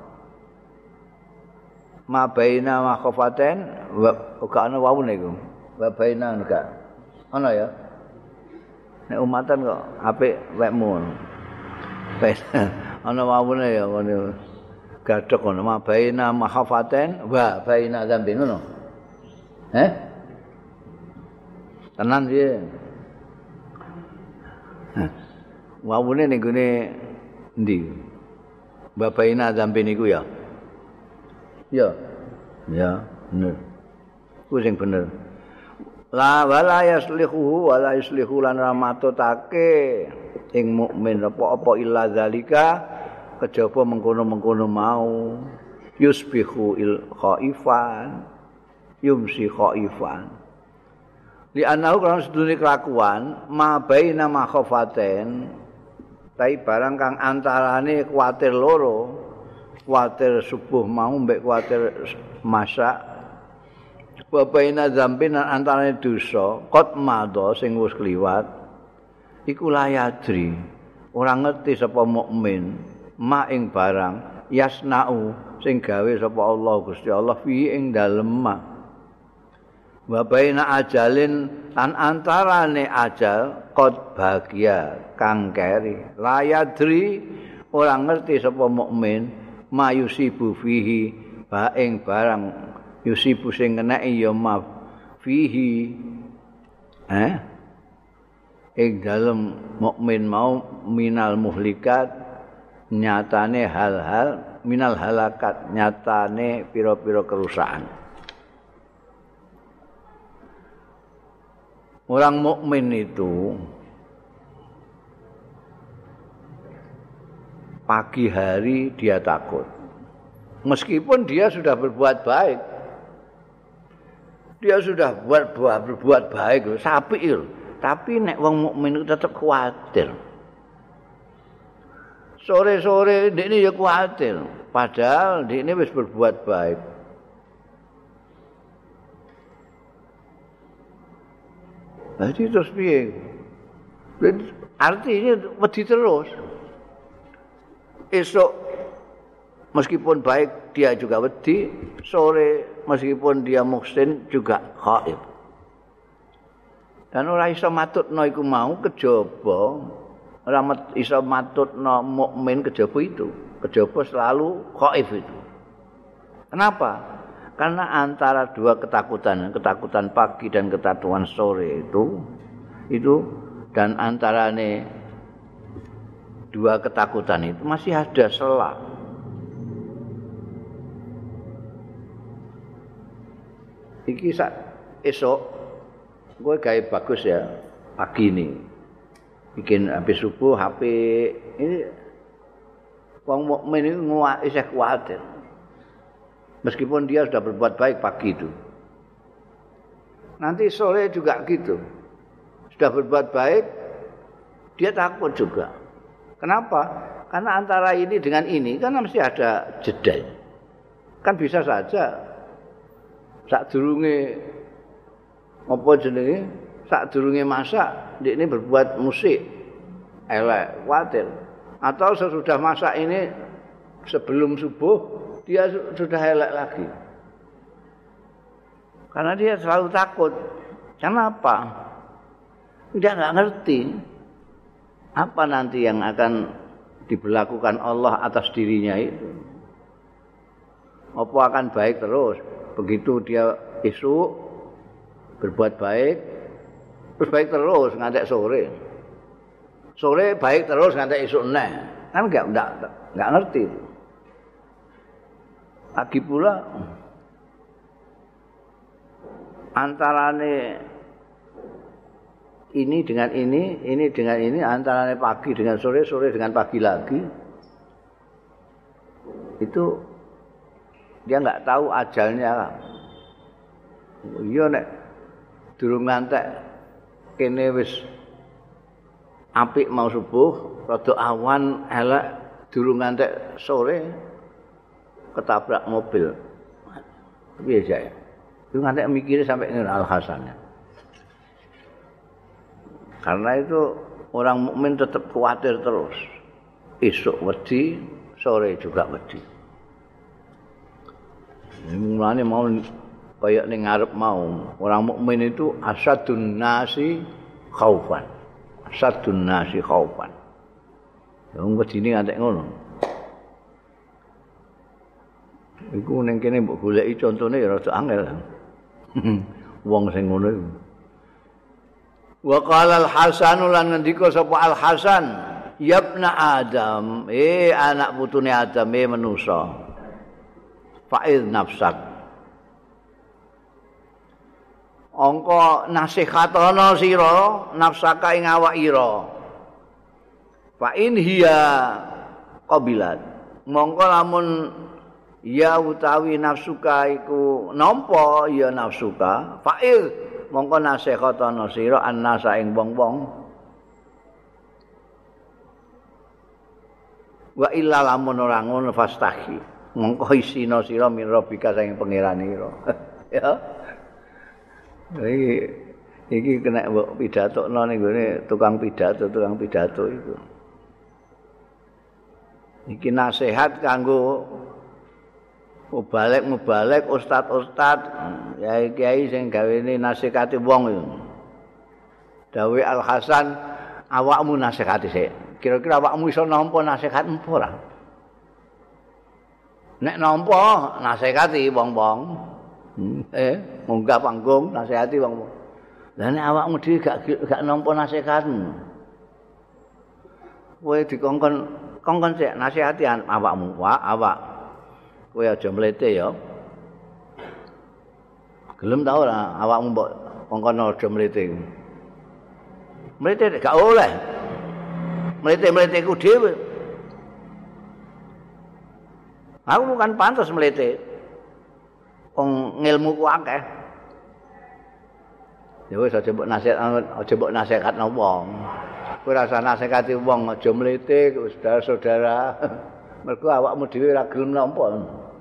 Speaker 1: ma baina makhafatain wa ana wawune iku wa baina enggak ana ya nek umatan kok apik wekmu ana wawune ya ngene gadhok ngono ma baina makhafatain wa baina dzambin ngono tenan piye wawune ning gone endi wa baina dzambin iku ya bener. Ku sing bener. La wala yaslihu wala yuslihu lan ramatotake ing mukmin apa-apa illa zalika kejaba mengkono-mengkono mau yusbihu il khaifan yumsi khaifan li anahu kan sedune kelakuan ma baina makhafaten tai barang kang antarane kuwatir loro kuwatir subuh mau mbek kuwatir masak wa baina dzambin antarané dosa qad madha sing wis kliwat iku layadri ora ngerti sapa mukmin ma ing barang yasnau sing gawe sapa Allah Gusti Allah fi ing dalem ma wa baina ajalin lan antarane ajal qad bagia kang keri layadri ora ngerti sapa mukmin mayusibu fihi ba ing barang yusibu sing keneki ya ma fihi ing dalem mukmin mau minal muhlikat nyatane hal-hal minal halakat nyatane pira-pira kerusakan. Orang mukmin itu pagi hari dia takut. Meskipun dia sudah berbuat baik. Dia sudah berbuat baik, sapi itu. Tapi nek wong mukmin itu tetap khawatir. Sore-sore ini ya khawatir, padahal ini wis berbuat baik. Jadi terus piye? Artinya wedi terus. Esok meskipun baik dia juga wedi, sore meskipun dia muhsin juga khaif. Dan ora iso matutno iku mau kejaba ora iso matutno mukmin kejaba itu. Kejaba selalu khaif itu. Kenapa? Karena antara dua ketakutan pagi dan ketakutan sore itu dan antarane dua ketakutan itu masih ada selang. Iki esok gue gawe bagus ya pagi ini. Bikin habis subuh HP ini wong mukmin itu isih kuwatir. Meskipun dia sudah berbuat baik pagi itu. Nanti sore juga gitu. Sudah berbuat baik dia takut juga. Kenapa? Karena antara ini dengan ini kan mesti ada jeda. Kan bisa saja sadurunge apa jenenge sadurunge masak ini berbuat musik elek khawatir atau sesudah masak ini sebelum subuh dia sudah elek lagi karena dia selalu takut. Kenapa? Dia nggak ngerti apa nanti yang akan diberlakukan Allah atas dirinya itu. Apa akan baik terus begitu dia esok berbuat baik terus baik terus ngantek sore. Sore baik terus ngantek esuk neh. Kan enggak ngerti. Lagi pula antarane ini dengan ini dengan ini, antarane pagi dengan sore, sore dengan pagi lagi. Itu dia enggak tahu ajalnya. Iya nek durung ngantek kene wis apik mau subuh, rada awan elek durung ngantek sore ketabrak mobil. Piye ya? Itu ngantek mikire sampai ngene Al Hasan. Karena itu orang mukmin tetap khawatir terus. Esok wedi, sore juga wedi. Mulane mau kayak ning ngarep mau, orang mukmin itu asadun nasi khaufan. Asadun nasi khaufan. Wong wedine ngantek ngono. Iku ning kene mbok goleki contone ya rada angel. Wong sing ngono iku. Wa qala al-Hasan lan ngendika sapa al-Hasan, "Yabna Adam, anak putune Adam, manusa. Fa'id nafsak. Angka nasihatana sira nafsaka ing awak ira. Fa in hiya qabilat. Mongko lamun ya utawi nafsuka iku nampa ya nafsuka, fa'il mongko nasihatana sira annasa ing wong-wong. Wa illa lamun ora ngono fastahi. Mongko isina sira min rabbika saking pangeranira. Ya. Iki kena mbok pidatokno ning gone tukang pidato itu. Iki nasihat kanggo mubalek ustad kiai sing gawene nasihati wong iku. Dawe Al Hasan, awakmu nasihati sik. Kira-kira awakmu iso nampa nasihat empo ora? Nek nampa nasihati wong-wong. Munggah panggung nasihati wong-wong. Lah nek awakmu dhewe gak nampa nasihatmu. Kowe kongkon sik nasihati awakmu. Wah, awak. Kowe aja mlete ya. Gelem ta ora awakmu mbok kongkon aja mlete. Mlete gak oleh. Mlete ku dhewe. Aku bukan pantas mlete. Wong ngilmuku akeh. Ya wis aja mbok nasihatno wong. Kowe rasa nasihati wong aja mlete saudara-saudara. Mergo awakmu dhewe ora gelem nampa.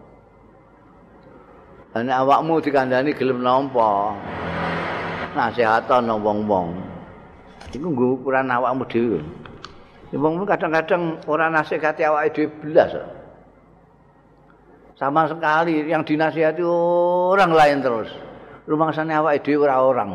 Speaker 1: Nek awakmu dikandani gelem nampa. Nasihatana wong-wong. Iku nggo ukuran awakmu dhewe. Wong kadang-kadang ora nasihati awake dhewe blas. Sama sekali yang dinasihati orang lain terus. Rumangsane awake dhewe ora orang.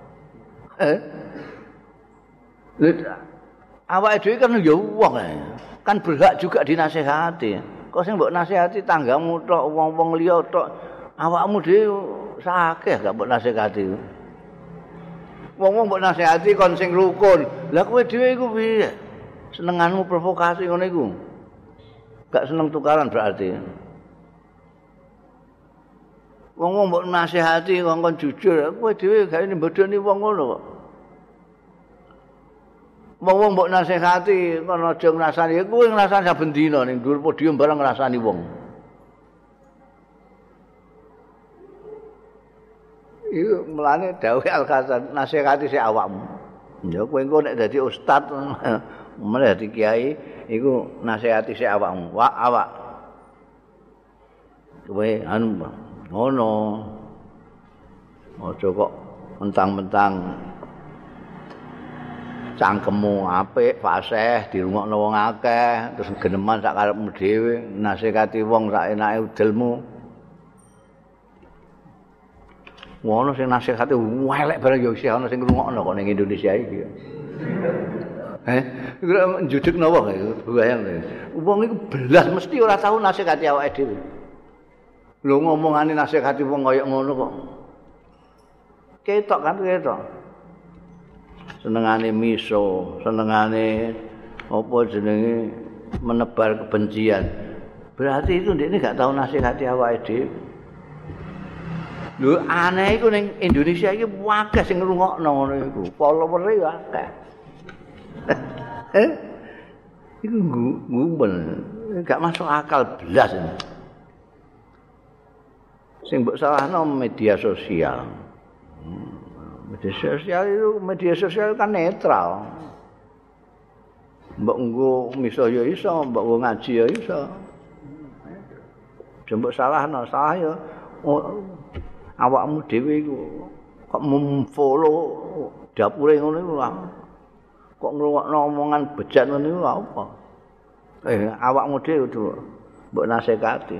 Speaker 1: Awake dhewe kan ya wong kan berhak juga dinasihati. Kok sing mbok nasihati tanggamu tok, wong-wong liya tok, awakmu dhewe sakeh gak mbok nasihati. Wong-wong mbok nasihati kon sing rukun. Lah kowe dhewe iku piye? Senenganmu provokasi ngono iku. Gak seneng tukaran berarti. Wong-wong mbok nasihati kon jujur, kowe dhewe gak bodoni wong ngono kok. Wong mbok nasihati kon aja ngrasani, kowe ngrasani saben dina ning dhuwur podium bareng ngrasani wong. Iku mulane dawuh Al-Hasan nasihati sik awakmu. Ya kowe engko nek dadi ustaz, mulane dadi kiai iku nasihati sik awakmu. Wak awak. Kowe anu ngono. Aja kok mentang-mentang cangkemmu apik, fasih, dirungokno wong akeh, terus geneman sak karepmu dhewe, nasihati wong sak enake udelmu. Ngono sing nasihati elek bareng ya isih ana sing ngrungokno kok ning Indonesia iki. Iku njudekno wong iku bayang. Wong iku belas mesti ora tau nasihati awake dhewe. Lho ngomongane nasihati wong kaya ngono kok. Ketok kan ketok. Senengane miso, senengane apa jenenge menebar kebencian. Berarti itu ndekne gak tau nasihati awake dhewe. Lho aneh iku ning Indonesia iki akeh sing ngrungokno ngono iku. Follower-e yo akeh. Iku ngumpul. Gak masuk akal blas ini. Sing mbok salahno media sosial. Media sosial kan netral. Mbok nggo miso ya iso, mbok nggo ngaji ya iso. Mbok salahno, salah ya awakmu dhewe iku kok memfollow dapure ngono iku lah. Kok ngrungokno omongan bejat ngono iku apa? Awakmu dhewe kudu mbok nasihati.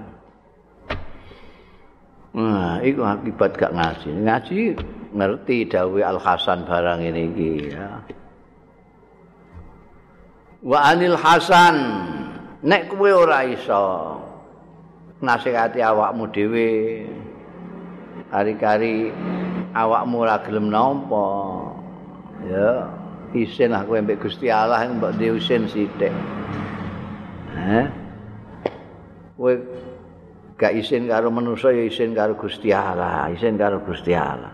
Speaker 1: Nah, iku akibat gak ngaji. Ngaji ngerti dawuh Al Hasan barang ini iki ya. Wa anil Hasan nek kowe ora iso nasihati awakmu dhewe hari-hari awakmu ora gelem nampa ya isin aku mbek Gusti Allah mbok diusin sithik. Kowe gak isin karo manusa ya isin karo Gusti Allah, isin karo Gusti Allah.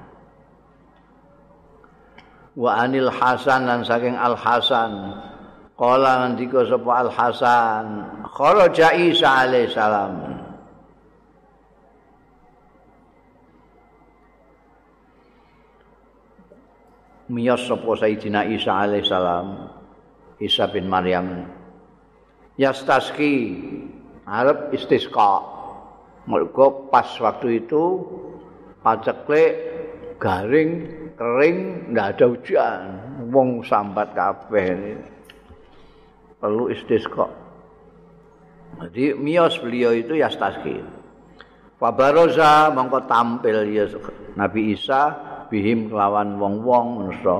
Speaker 1: Wa anil Hasan lan saking Al Hasan qala ngendika sapa Al Hasan kharaja Isa alaihi salam. Miyas sapa Sayyidina Isa alaihi salam, Isa bin Maryam. Yastaski arep istisqa. Mergo pas waktu itu paceklik garing kering ndak ada hujan, wong sambat kabeh. Perlu istisqa. Jadi miyos beliau itu yastasqi. Fabaroza mongko tampil ya Nabi Isa bihim kelawan wong-wong manusa.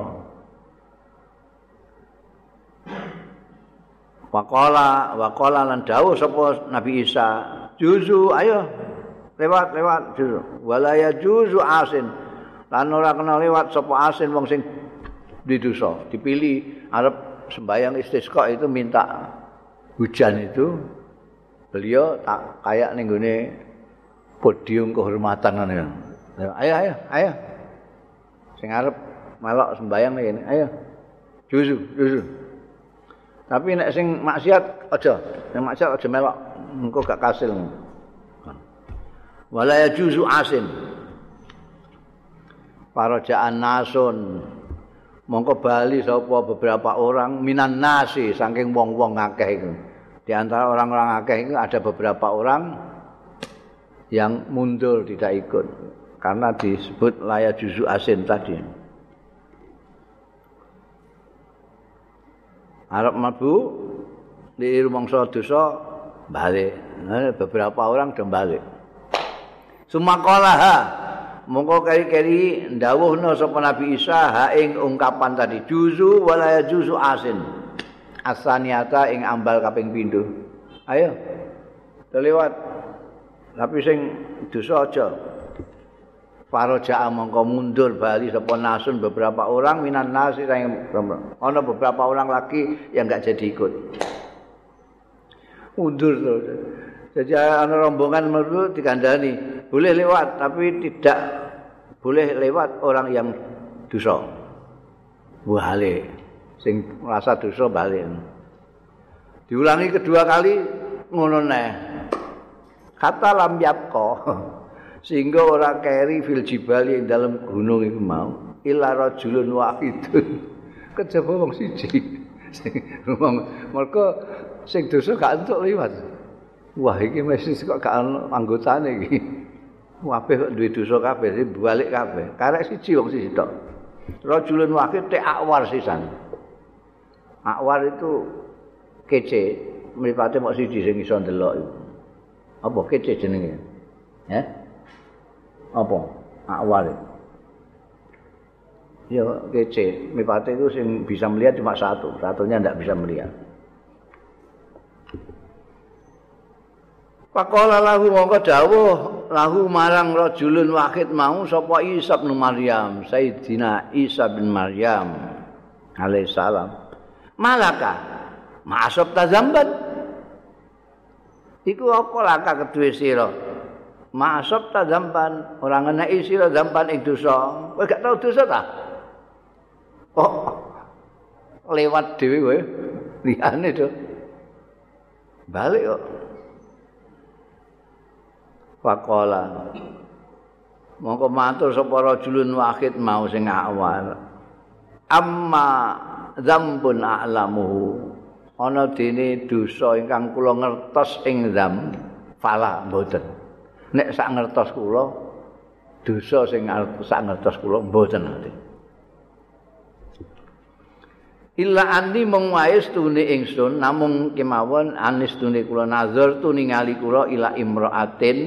Speaker 1: Waqala lan dawuh sapa Nabi Isa, juzu ayo lewat juzu. Wala ya juzu asin. Lan ora kena lewat sapa asin wong sing didosa. Dipilih arep sembahyang istisqa itu minta hujan itu. Beliau tak kayak ning gone podium kehormatan ngene. Ayo. Sing arep melok sembayang ngene, ayo. Juzu. Tapi nek sing maksiat aja, sing maksiat aja melok, engko gak kasil. Wala yajuzu asin. Parajaan nasun. Mongko bali sapa beberapa orang minan nasi saking wong-wong akeh iku. Di antara orang-orang akeh itu ada beberapa orang yang mundur tidak ikut karena disebut laya juzu asin tadi. Arab mlebu di rumangsa dosa balik. Nah, beberapa orang udah balik. Sumakalaha mongko keri-keri ndawuhna sapa Nabi Isa ha ing ungkapan tadi juzu wala juzu asin. Asaniata ing ambal kaping pindho. Ayo. Lewat. Tapi sing dosa aja. Paraja mongko mundur bali sapa nasun beberapa orang minan nasi ana beberapa orang lagi yang enggak jadi ikut. Mundur terus. Jadi ana rombongan metu dikandani, boleh lewat tapi tidak boleh lewat orang yang dosa. Balik. Sing merasa dosa balik. Diulangi kedua kali ngono neh. Kata lam yapqa sehingga ora keri fil jibali ing dalam gunung iku mau illa rajulun wahidun kejaba wong siji mergo sing dosa gak entuk liwat wah iki mesti kok gak ono anggotane iki kabeh kok duwe dosa kabeh balik kabeh karek siji wong siji tok rajulun wahid te akwar sisan akwar itu kece mripate mok siji sing iso ndelok iku apa kece jenenge ya apa akwar ya kece mripate itu sing bisa melihat cuma satunya ndak bisa melihat. Faqala lahu mongko dawuh lahu marang rajulun wahid mau sapa Isa bin Maryam Sayyidina Isa bin Maryam alaihi salam malaka ma'asab tazamban iku apa laka kedue sira ma'asab tazamban ora ngeneki sira zamban ing dosa kowe gak tau dosa ta kok lewat dhewe kowe liyane to balik kok faqala mongko matur sapa rajulun wahid mau sing awal amma dzambun a'lamuhu ana dene dosa ingkang kula ngertos ing dzam fala mboten nek sak ngertos kula dosa sing sak ngertos kula mboten ate illa andi mung wae stune ingsun namung kemawon anis stune kula nazar tu ningali kula ila imraatin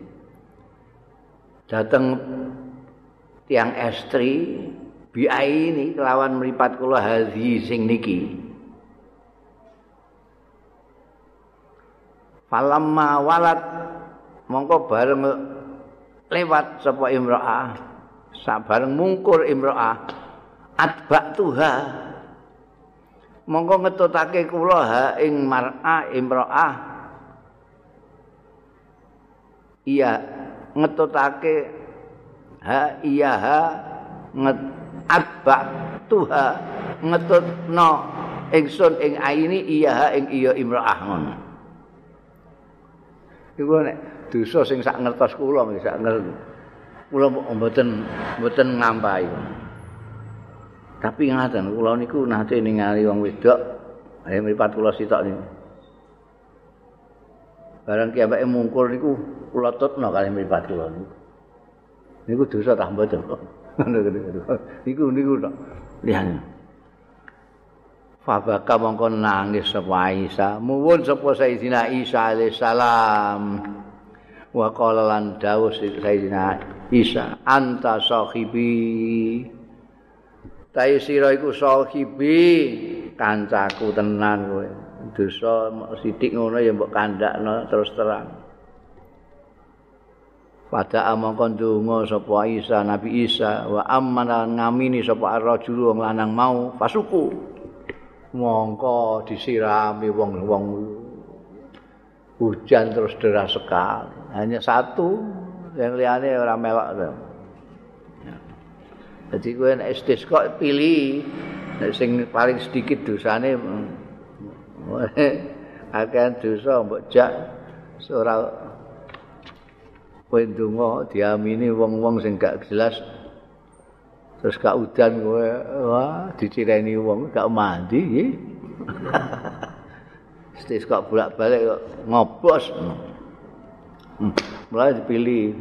Speaker 1: dateng tiang estri biai ini kelawan mripat kula hadhi sing niki falamma walad mongko bareng lewat sapa imraah sabareng mungkur imraah atba tuha mongko ngetutake kula ha ing mar'a imraah iya ngetutake ha iya ha atba tuha ngetutno ingsun ing aini iya ha ing iya imraah ngono iku nek dosa sing sak ngertos kula sak ngertos kula mboten ngampahi tapi ngaten kula niku nate ningali wong wedok ayo mripat kula sitok niku barang ki ambeke mungkur niku kula tutno kali mripat kula niku dosa tak mboten niku tok liyane Fabaka mongko nangis sapa Isa, muwun sapa Sayyidina Isa alaihissalam. Wa qala lan dawuh Sayyidina Isa, anta sahibi. Tai sira iku sahibi, kancaku tenan kowe. Dosa sithik ngono ya mbok kandhakno terus terang. Pada amangka ndonga sapa Isa, Nabi Isa, wa amana ngamini sapa ar-rajul wong lanang mau pasuku. Mongko disirami wong-wong hujan terus deras sekali. Hanya satu, yang liane ora melok. Jadi kowe nek istisqa pilih nek sing paling sedikit dosane akeh dosa mbok jak ora kowe ndonga diamini wong-wong sing gak jelas. Terus gak udan kowe, wah dicireni wong gak mandi nggih. Stis kok bolak-balik kok ngobos. Mulai dipilih.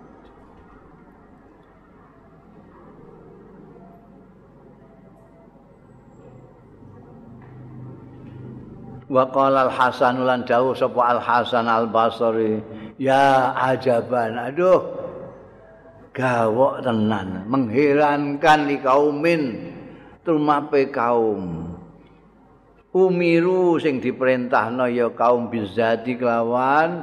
Speaker 1: Wa qala Al-Hasan lan dawuh sapa Al-Hasan Al-Basri, ya ajaban, aduh gawok tenan, mengherankan li kaumin tumape kaum umiru sing diperintahno ya kaum bizati kelawan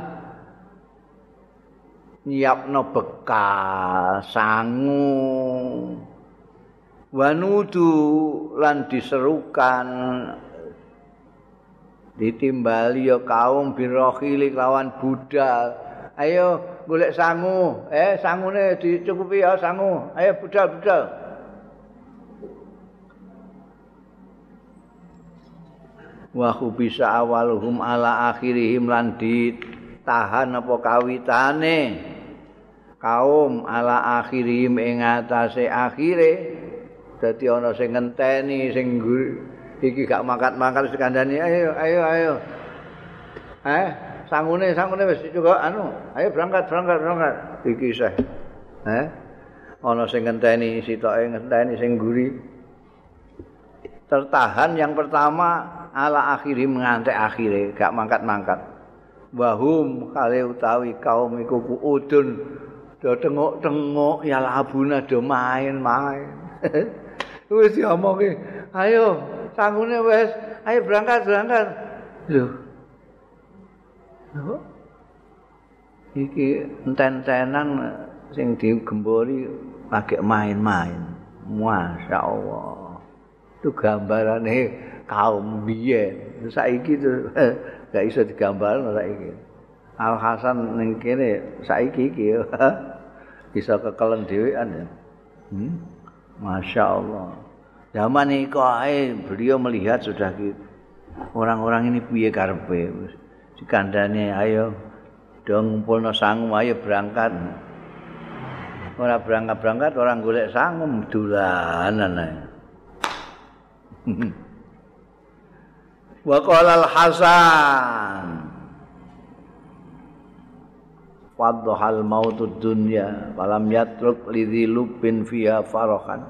Speaker 1: nyiapno bekal sangu wanudu lan diserukan ditimbali ya kaum birohili kelawan budal. Ayo golek sangu, sangune dicukupi ya sangu. Ayo budal-budal. Wa bisa awaluhum ala akhirihim lan ditahan apa kawitane kaum ala akhirihim ing atase akhire. Dadi ana sing ngenteni sing iki gak mangkat-mangkat wis kandhani ayo. Sangune wis cukup anu. Ayo berangkat. Iki isih. Ana sing ngenteni sitoke ngenteni sing guri. Tertahan yang pertama ala akhiri mengantek akhire, gak mangkat-mangkat. Wahum kale utawi kaum iku kuudun do tengok-tengok ya labuna do main-main. Wis diomongi, ayo sangune wis, ayo berangkat. Lho. Iki enten-entenan sing digembori lagi main-main. Masya Allah. Itu gambarane kaum biyen. Saiki itu gak iso digambarno saiki. Al Hasan ning kene saiki iki bisa kekelen dhewean ya. Masya Allah. Zaman iku ae beliau melihat sudah gitu. Orang-orang ini piye karepe wis dikandani ayo dong ngumpulno sangu ayo berangkat. Ora berangkat orang golek sangu dolanan ae. Wa qala Al-Hasan wadhal mautud dunya walam yatruk lidhi lubin fiha farahan.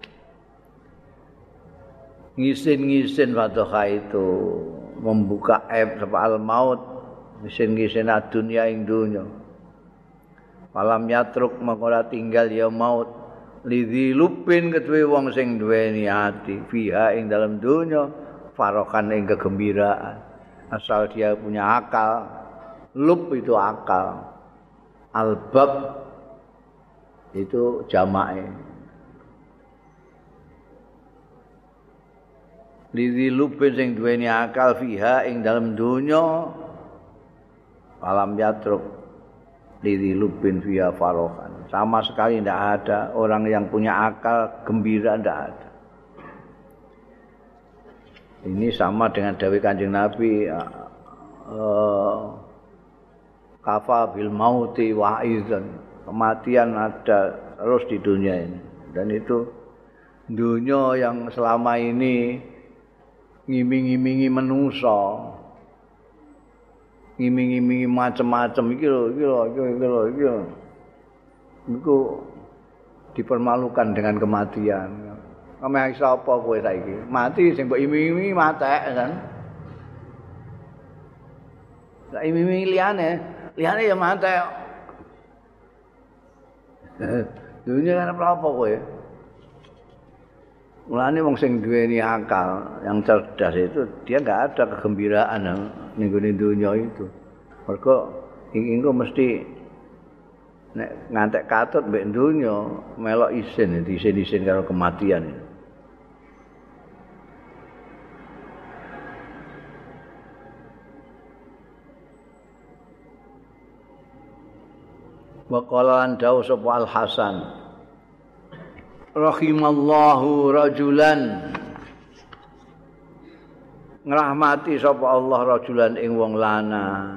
Speaker 1: Ngisin-ngisin wadha itu membuka aib sapa al-maut ngisin-ngisin dunya ing dunya. Walam yatruk mengora tinggal ya maut lidhi lubin keduwe wong sing duweni ati fiha ing dalam dunya farahan ing kegembiraan. Asal dia punya akal, lub itu akal. Albab itu jamae. Lidhi lubin sing duweni akal fiha ing dalam dunya alam yatruk lidhi lubin fiha farohan. Sama sekali tidak ada orang yang punya akal gembira, tidak ada. Ini sama dengan dawuh Kanjeng Nabi kafa bil mauti wa'izan. Kematian ada terus di dunia ini. Dan itu dunia yang selama ini ngiming-ngimingi manusa. Ngiming-ngimingi macam-macam iki lho. Iku dipermalukan dengan kematian. Meh sapa kowe saiki? Mati sing mbok imi-imi matek kan. Lah imi-imi liyane ya matek. Dunia kan apa kowe? Mulane wong sing duweni akal, yang cerdas itu dia enggak ada kegembiraan ning gone dunia itu. Mergo engko mesti nek ngantek katut mbek dunia melok isin, diisin-isin karo kematian. Wa qala an dawu sapa Al Hasan rahimallahu rajulan ngrahmati sapa Allah rajulan ing wong lanang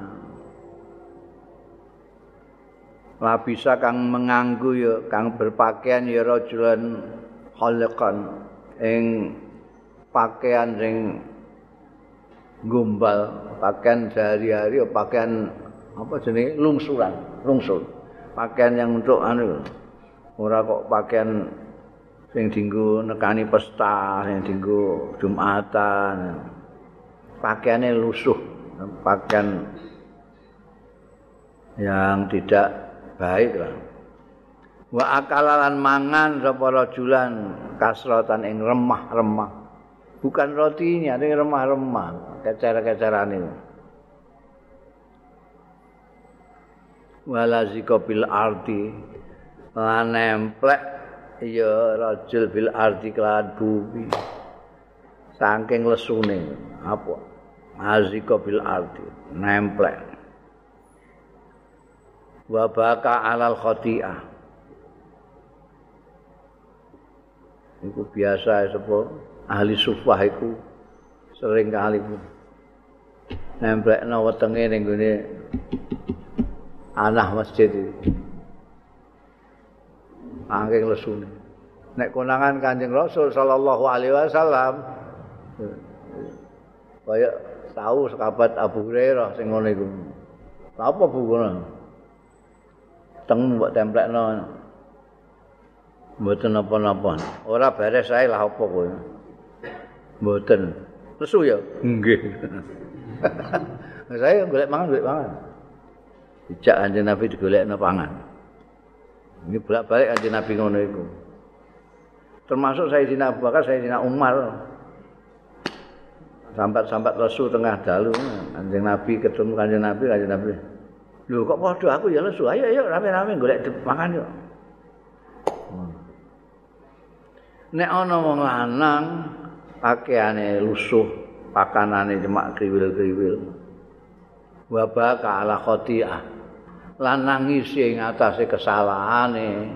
Speaker 1: labisa kang menganggu ya kang berpakaian ya rajulan khaliqan ing pakaian sing gombal pakaian sehari-hari pakaian apa jenenge lungsuran lungsur pakaian yang untuk ora kok pakaian sing dienggo nekani pesta, sing dienggo Jumatan. Pakaiane lusuh, pakaian yang tidak baik lah. Wa akalalan mangan sapa rajulan kasratan ing remah-remah. Bukan rotinya, ini remah-remah, kecer-kecerane. Walazika bil ardi lan nemplek ya rajul bil ardi kelan bumi saking lesune apa azika bil ardi nemplek wa baka alal khati'ah iku biasa sapa ahli sufah iku sering kali nemplekno wetenge ning gone anah masjid iki. Angking lesune. Nek konangan Kanjeng Rasul sallallahu alaihi wasallam kaya tahu sahabat Abu Hurairah sing ngono iku. Apa Bu ngono? Teng mbok templekno. Mboten napa-napa. Ora beres ae lah apa kowe. Mboten. Lesu ya? Nggih. Saya golek mangan. Dijak Kanjeng Nabi digolekno pangan. Ini bolak-balik Kanjeng Nabi ngono iku. Termasuk Sayyidina Abu Bakar, Sayyidina Umar. Sambat-sambat lesu tengah dalu Kanjeng Nabi ketemu Kanjeng Nabi. Lho kok padha aku ya lesu. Ayo rame-rame golek mangan yuk. Nek ana wong lanang pakaiane lusuh, pakanane cemak kriwil-kriwil. Wa baka ala khati'ah. Lan nangisi ing atase kesalahane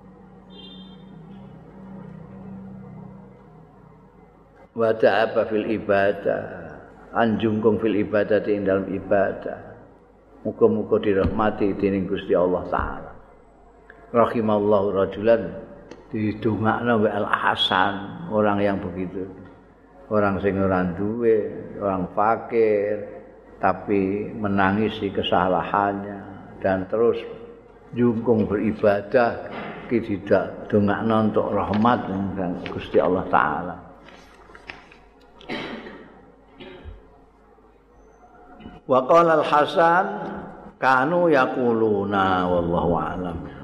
Speaker 1: wa ta'aba fil ibadah anjungkung fil ibadati ing dalam ibadah muga-muga dirahmati dening Gusti Allah taala rahimallahu rajulan didongakno wa Al Hasan orang yang begitu orang sing ora duwe orang fakir tapi menangisi kesalahannya dan terus jungkung beribadah tidak dongakno untuk rahmat dan Gusti Allah taala. Wa qala Al Hasan kanu yaquluna wallahu a'lam.